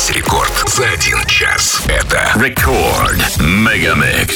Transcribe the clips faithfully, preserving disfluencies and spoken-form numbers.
Весь рекорд за один час. Это Рекорд Мегамикс.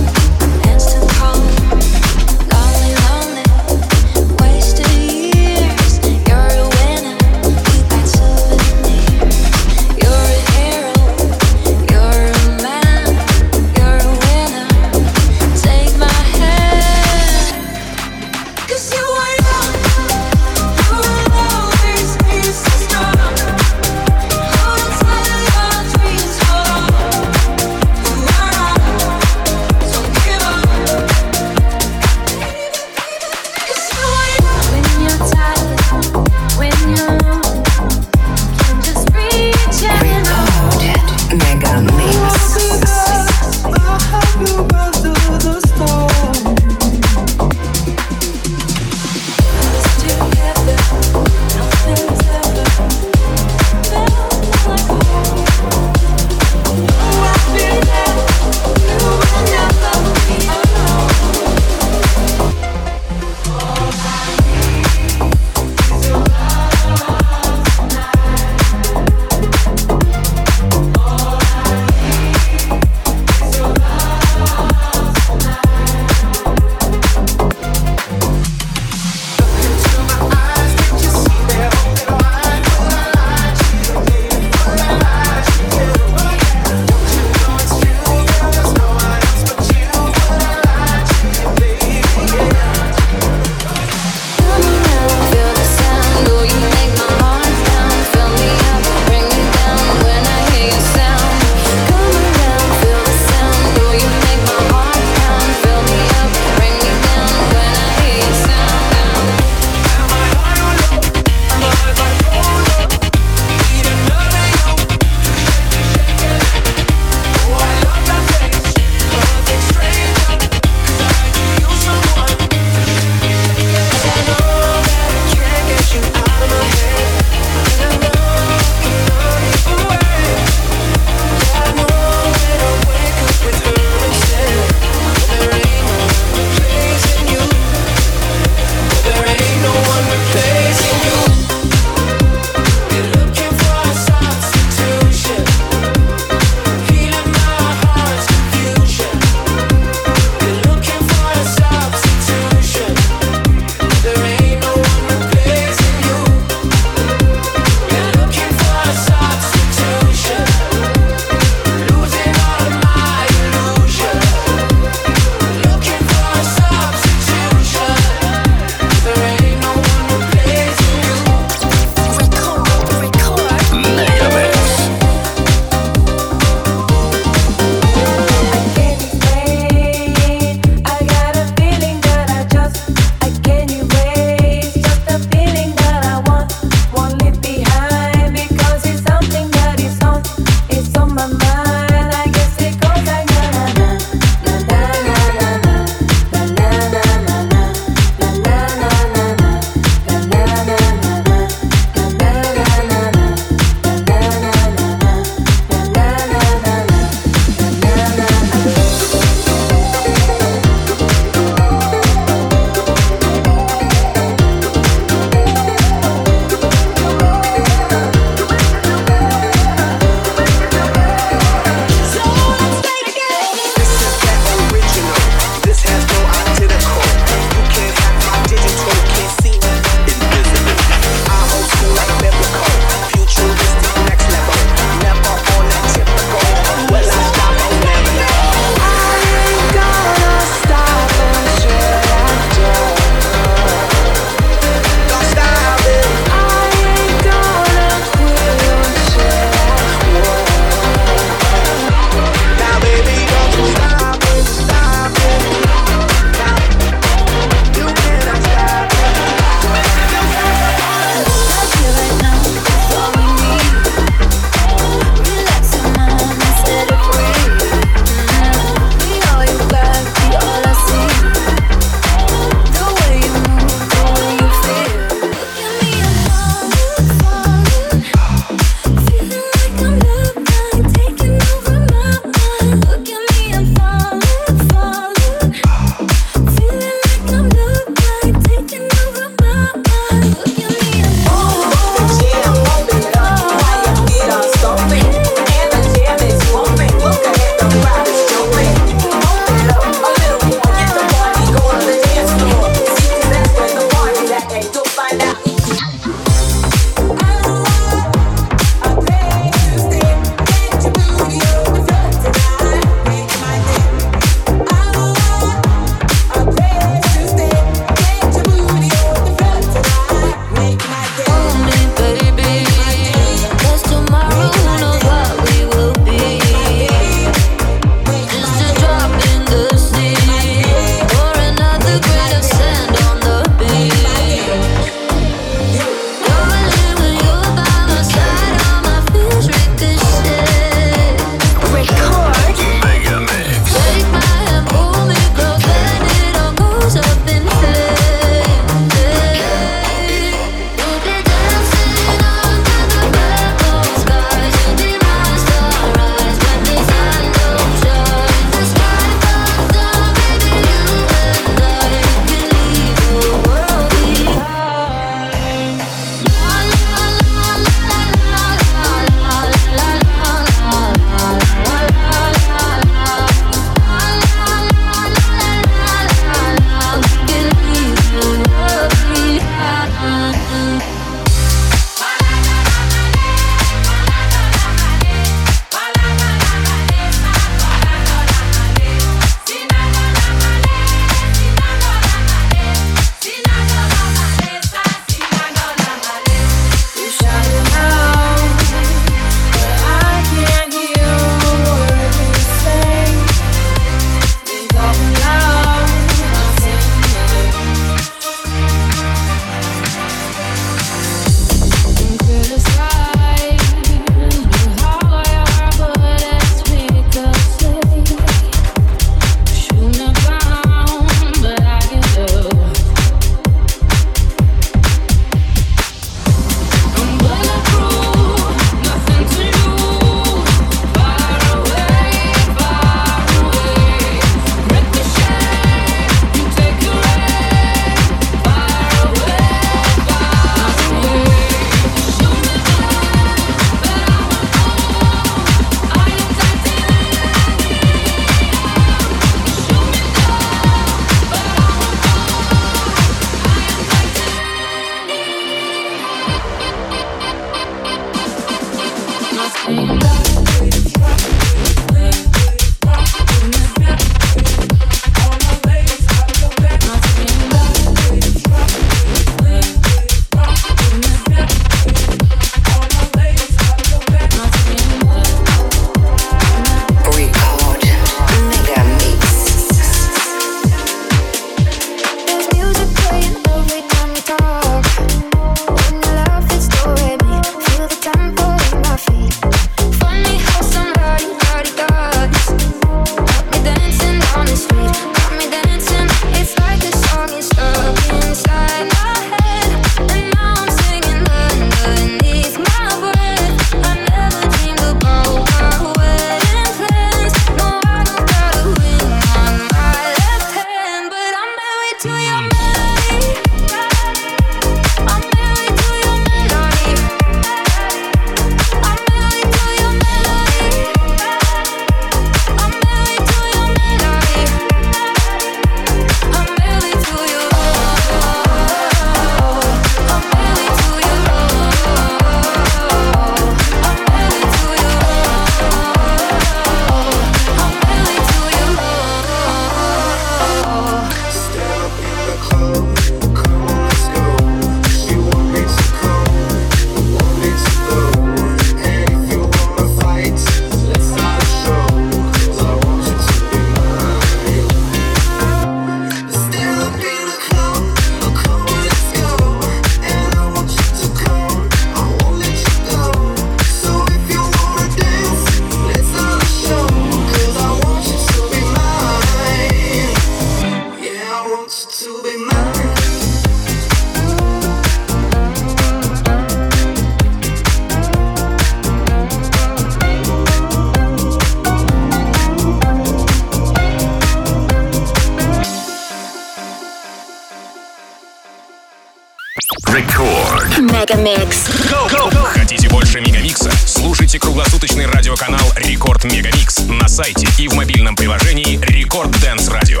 Мегамикс. Хотите больше Мегамикса? Слушайте круглосуточный радиоканал Рекорд Мегамикс на сайте и в мобильном приложении Рекорд Дэнс Радио.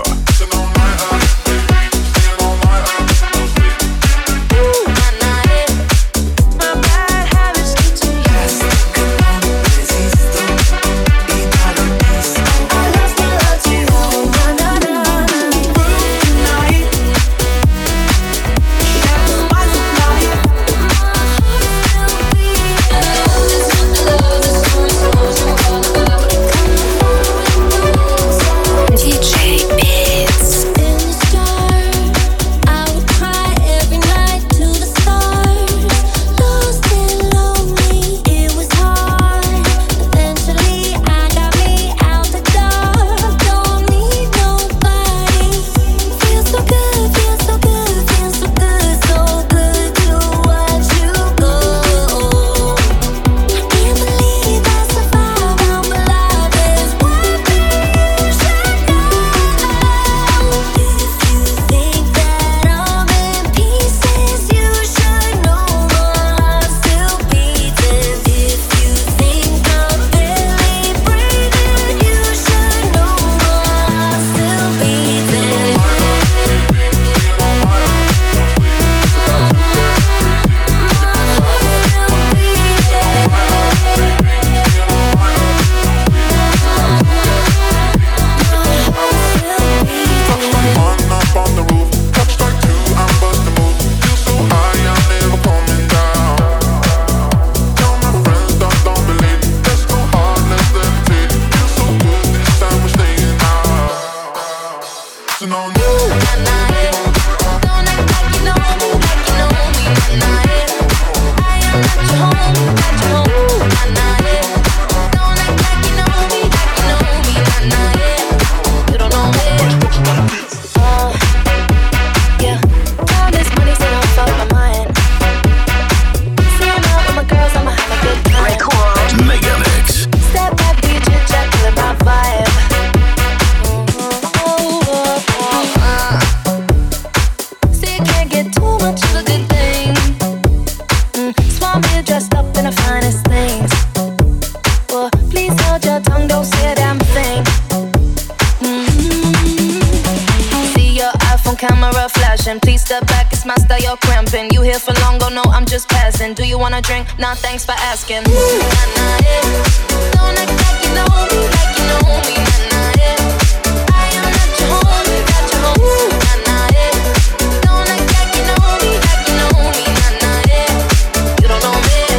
Do you wanna drink? Nah, thanks for asking. Nah, nah, yeah. Don't act like you know me, like you know me. Nah, nah, yeah. I am not your homie, not your homie. Nah, nah, yeah. Don't act like you know me, like you know me. Nah, nah, yeah. You don't know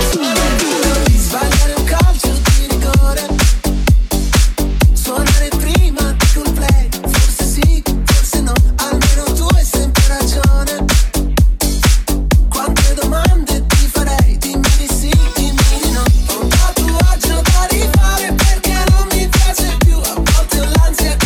me. Sbagliare un calcio di rigore, suonare prima di col play. Forse sì, forse no, almeno tu hai sempre ragione. Quante domande ti farei, dimmi di sì, dimmi di no. Ho un tatuaggio da rifare perché non mi piace più. A volte ho l'ansia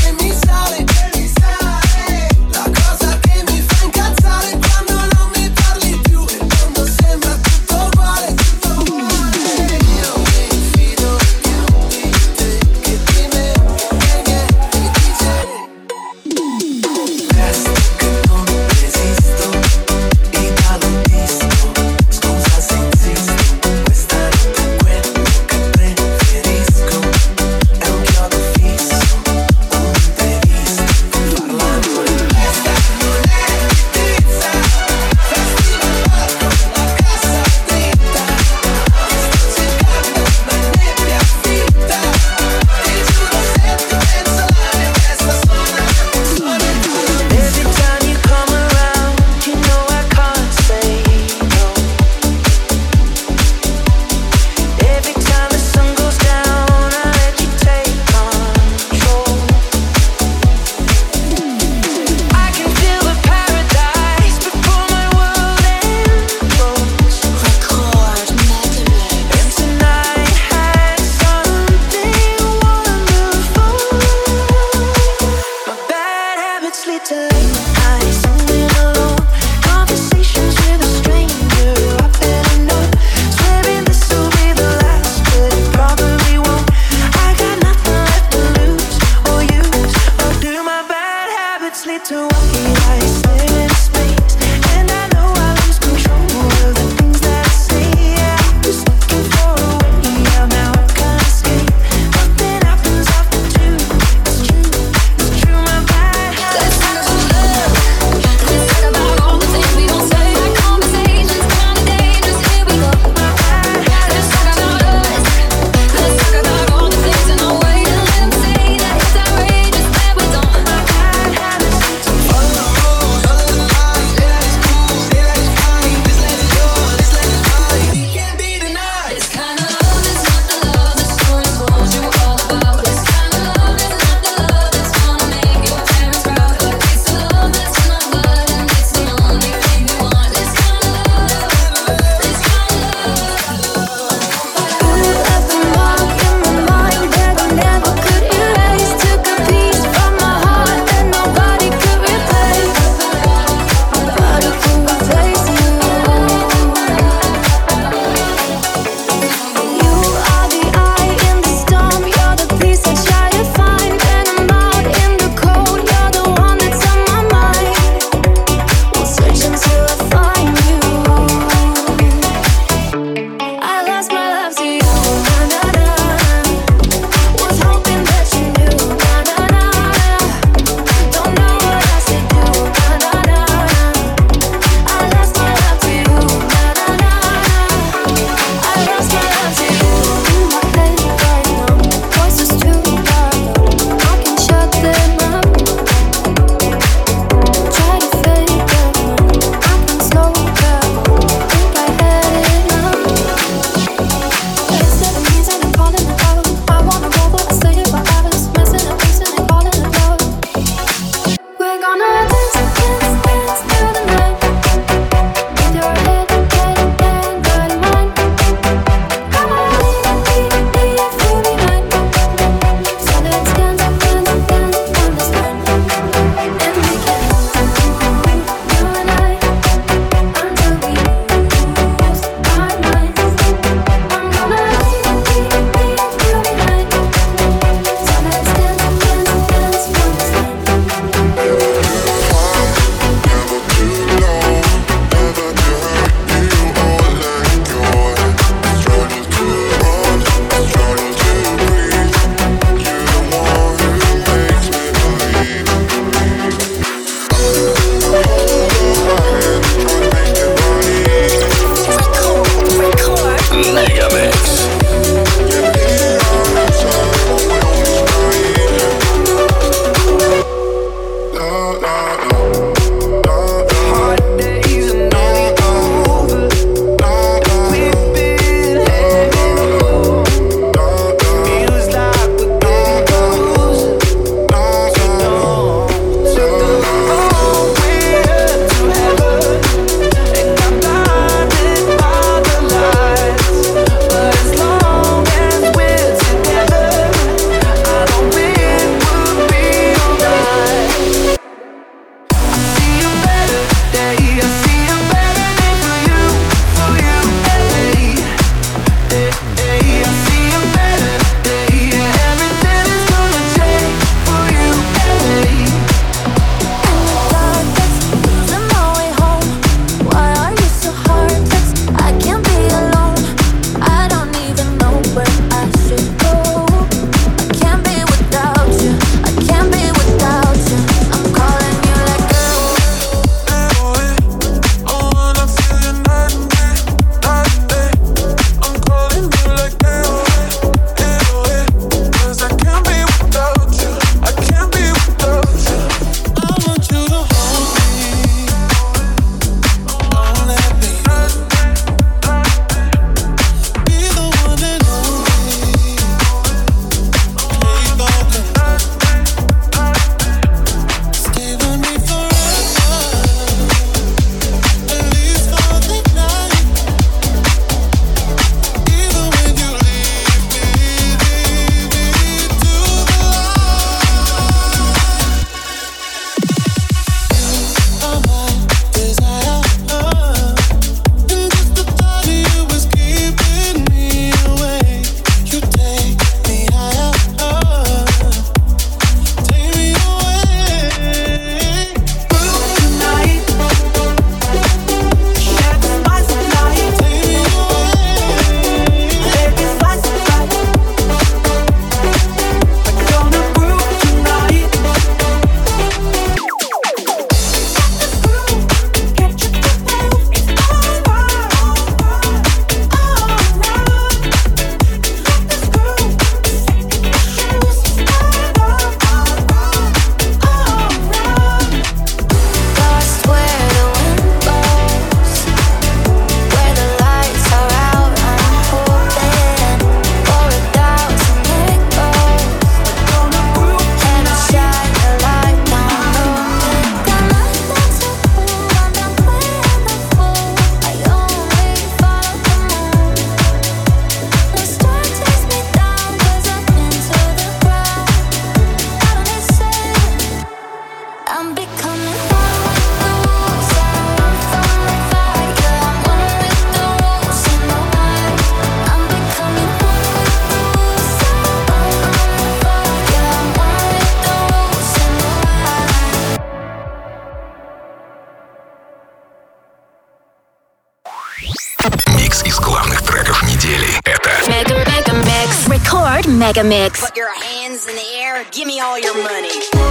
Mega Mix. Put your hands in the air, give me all your money.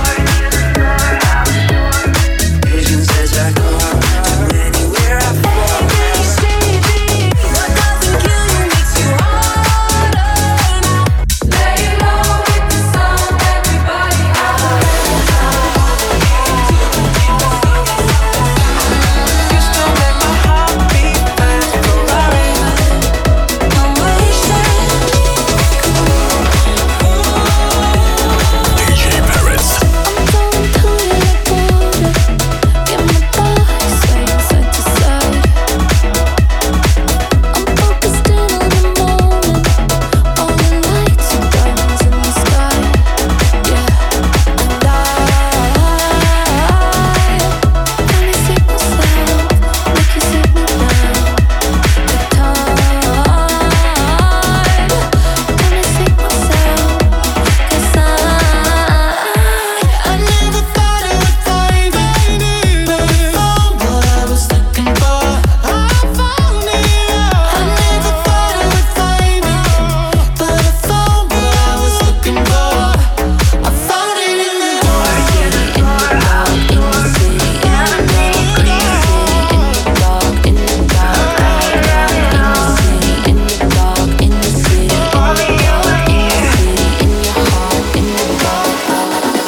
Vision says I go to anywhere I fall. What doesn't kill you makes you harder now. Lay low with the sound, everybody out. You still make my heart beat fast, Ferrari. I'm wasted. ди джей Parrots. I'm going through it like water. Get my body swaying side to side. I'm focused in on the moment. All the lights and diamonds in the sky. Yeah, and I finally see myself. Make you sit me down. The time. Finally see myself. 'Cause I I never thought it would find me, but I found what I was looking for. I found it. I never thought it would find me, but I found what I was looking for. I found it in the dark. in the dark, in the city, in the dark, in the city, in the dark, in the city, in the dark, in the city, in the dark, in the city, in the city, in your heart, in the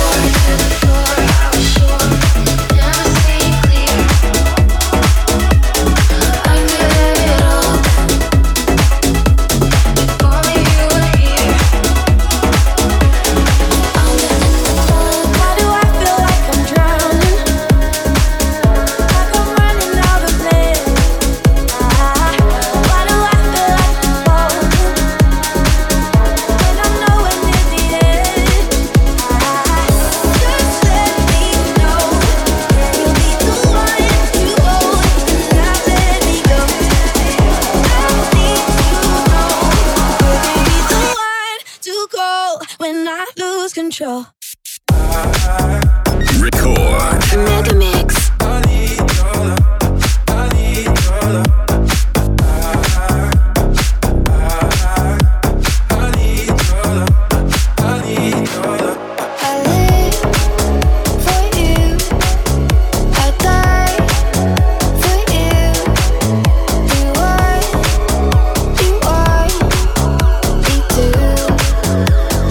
Why do I feel like I'm drowning? Like I'm running out of air. Why do I feel like I'm falling when I know we're near the end? Just let me know you'll be the one to hold and not let me go. I need to know you'll be the one to go when I lose control. Record. Mega Mix. I live for you. I die for you. You are, you are, me too.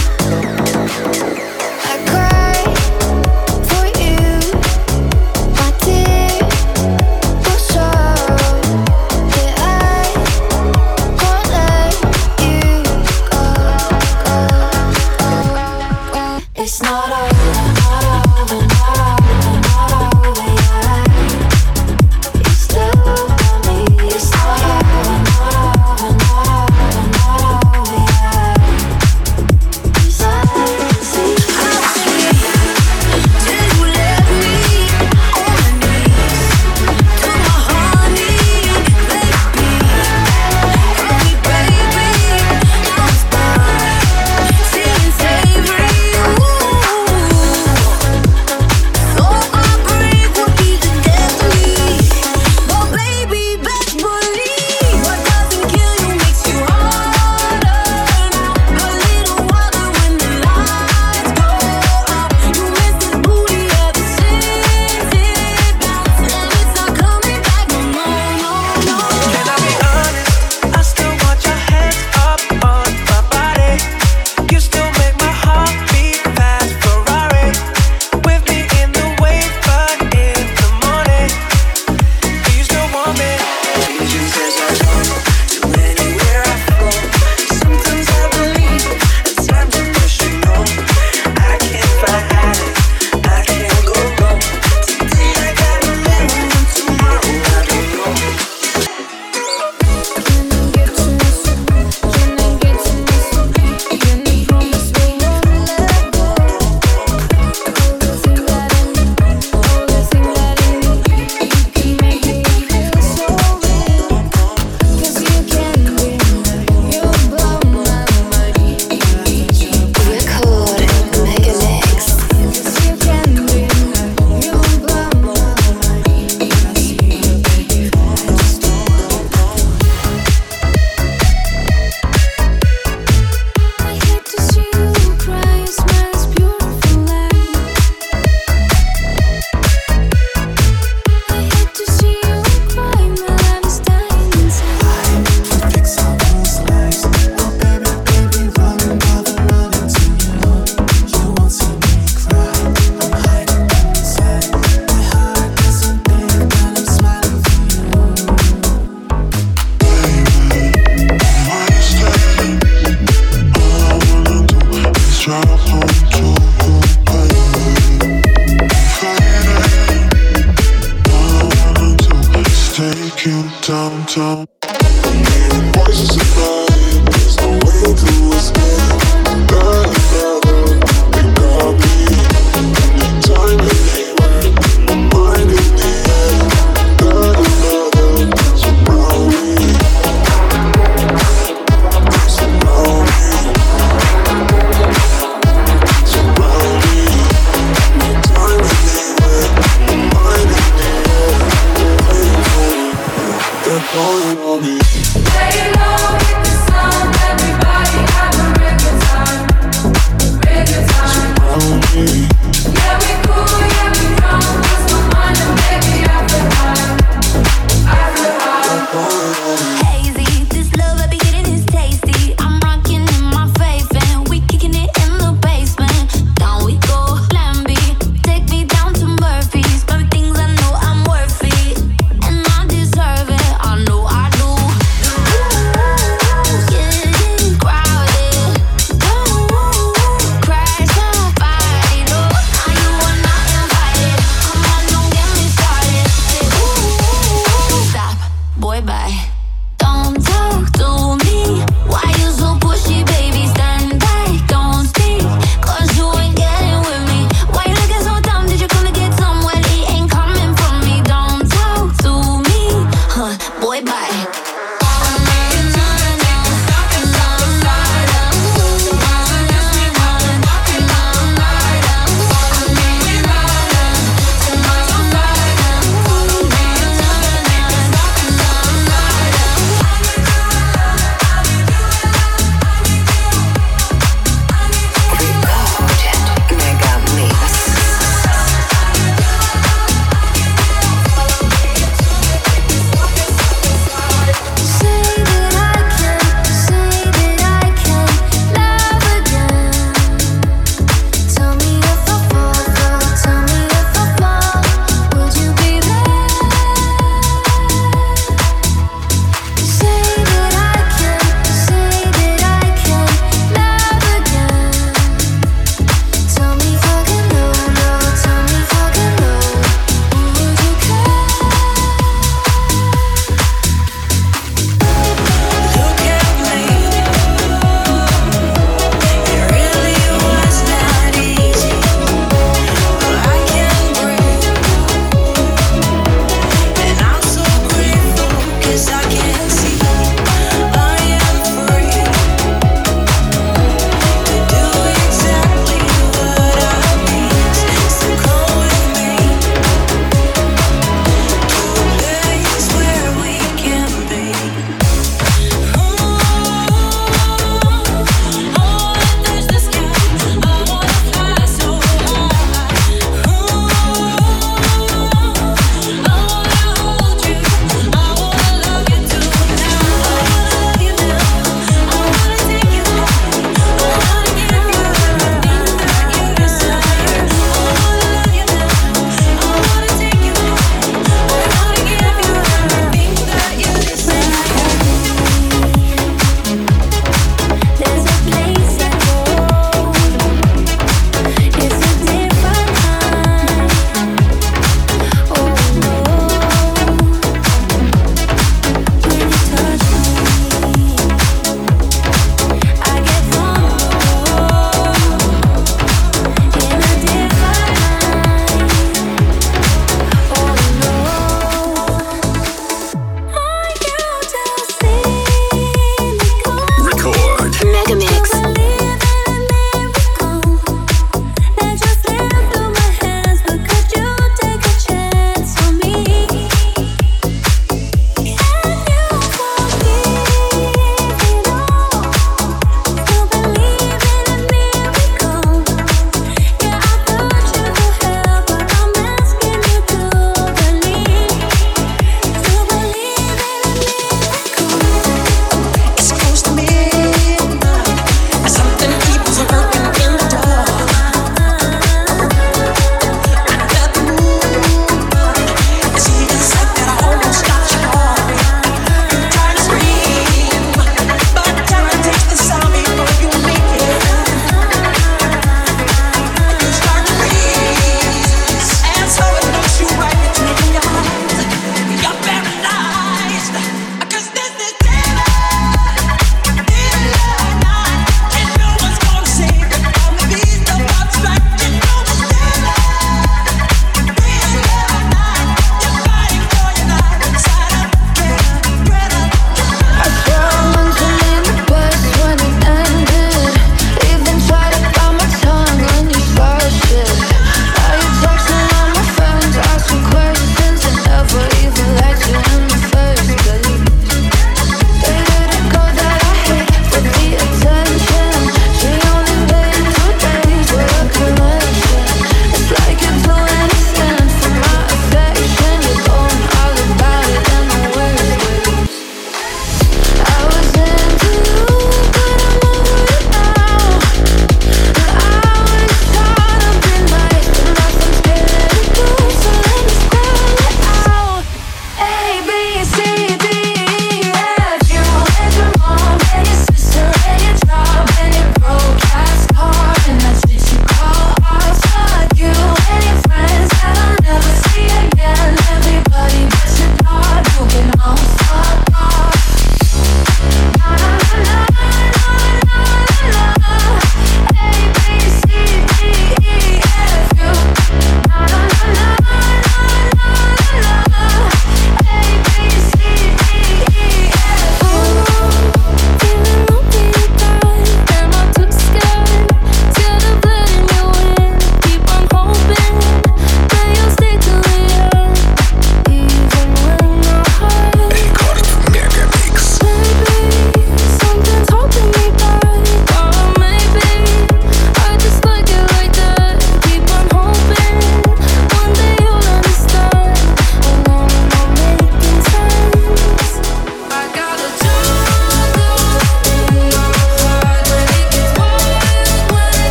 I cry for you. I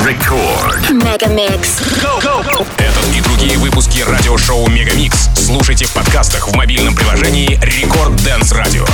Record. Megamix. Этот и другие выпуски радиошоу Мегамикс слушайте в подкастах в мобильном приложении Record Dance Radio.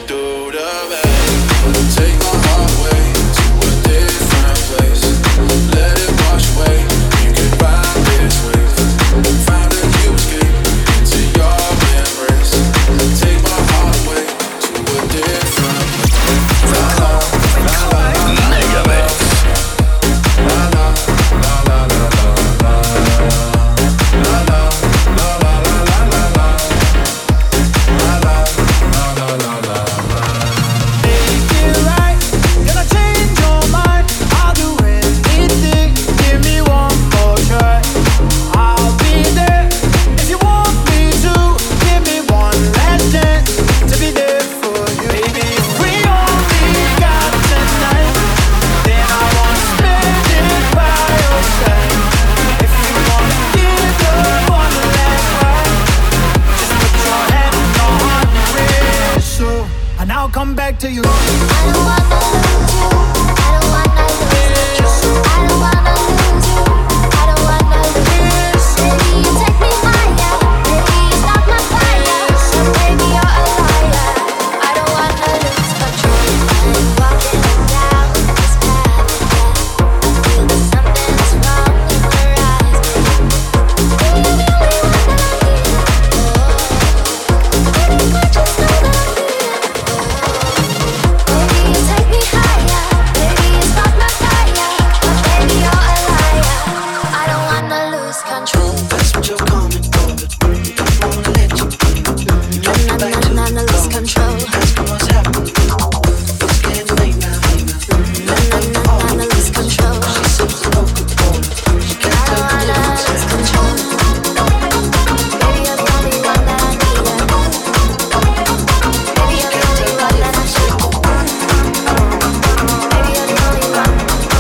Take my heart away to a different place. come back to you. I don't wanna lose you. I don't wanna lose control. I don't wanna lose you. I don't wanna lose. Baby, you take me higher. Baby, you stop my fire. So baby, you're a liar. I don't wanna lose control. I'm walking down this path again. I feel that something's wrong in your eyes, baby. You're the only one that I need. Oh, baby, I just know that I need it. Oh, baby, you take me higher. Baby, you stop my fire. But baby, you're a liar. I don't wanna lose control. That's what you're coming for. Don't wanna let you go. No, no, no, no, no, lose control. Ask me what's happening. It's getting late now, baby. No, no, no, no, no, lose control. She sips the Coca-Cola. She I can't don't take the wanna limits. lose control. Baby, you're the only one that I need. Baby, you're the only one that I should. Baby, you're the only one.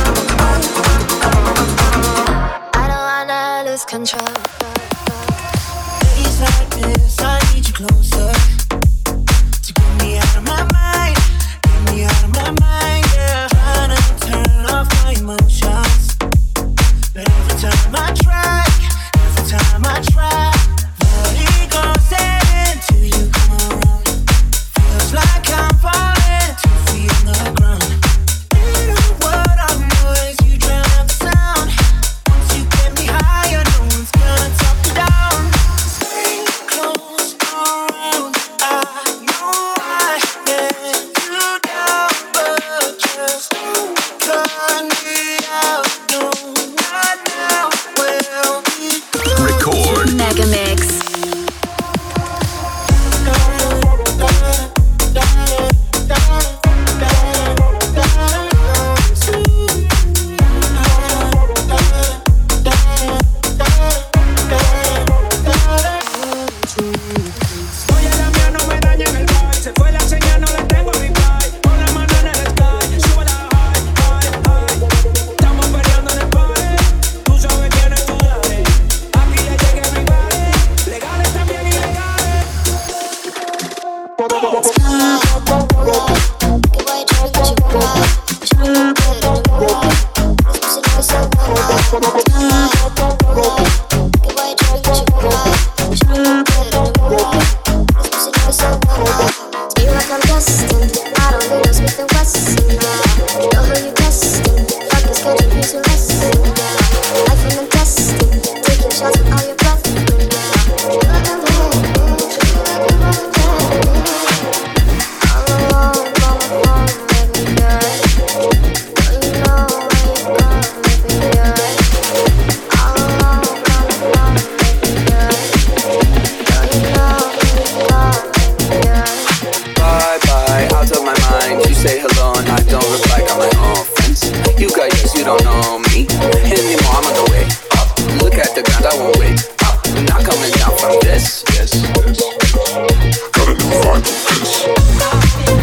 I don't wanna lose control. Days like this, I need you closer to get me out of my mind, get me out of my mind, yeah. Trying to turn off my emotions, but every time I try, every time I try, body goes setting till you come around. Feels like I'm falling two feet on the ground. Little word I know is you drown out the sound. Once you get me higher, no one's gonna talk me down. Stay close around. I know I let you down, but just don't turn me out. No, not now. We'll be Record. Mega Mix. Oye, la mía no me daña en el bar. Se fue la señal, no la tengo en reply. Pon la mano en el sky, sube la high, high, high. Estamos peleando en el party. Tú sabes quién es tu daddy. Aquí ya llega everybody. Legales también ilegales. Bye bye, out of my mind. You say hello and I don't reply. Got my own friends. You got yours, you don't know me anymore. I'm on the way up. Look at the ground, I won't wait up. I'm not coming down from this. Yes, yes. Got a new vibe with this.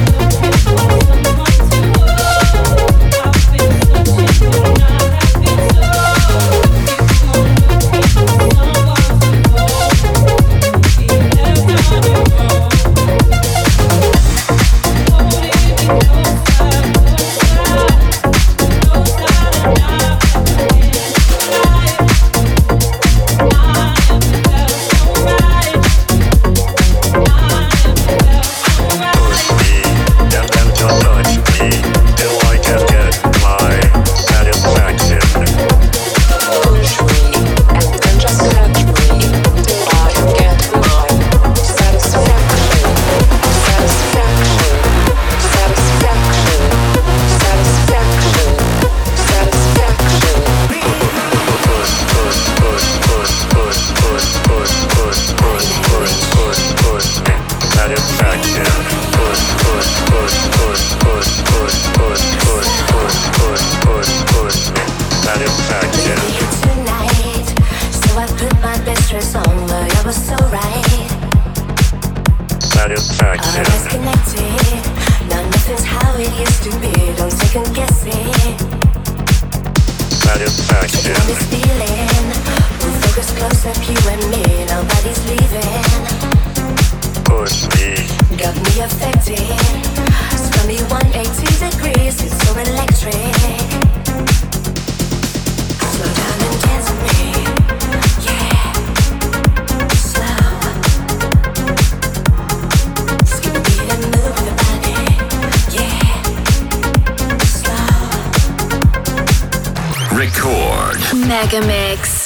Satisfaction. All is connected. Now nothing's how it used to be. Don't second guess it. Satisfaction. Taking this feeling. We'll focus close up, you and me. Nobody's leaving. Push me. Got me affected. me one eighty degrees, it's so electric. Slow down and dance with me, yeah. Slow. Skip a beat and move your body, yeah. Slow. Record. Mega Mix.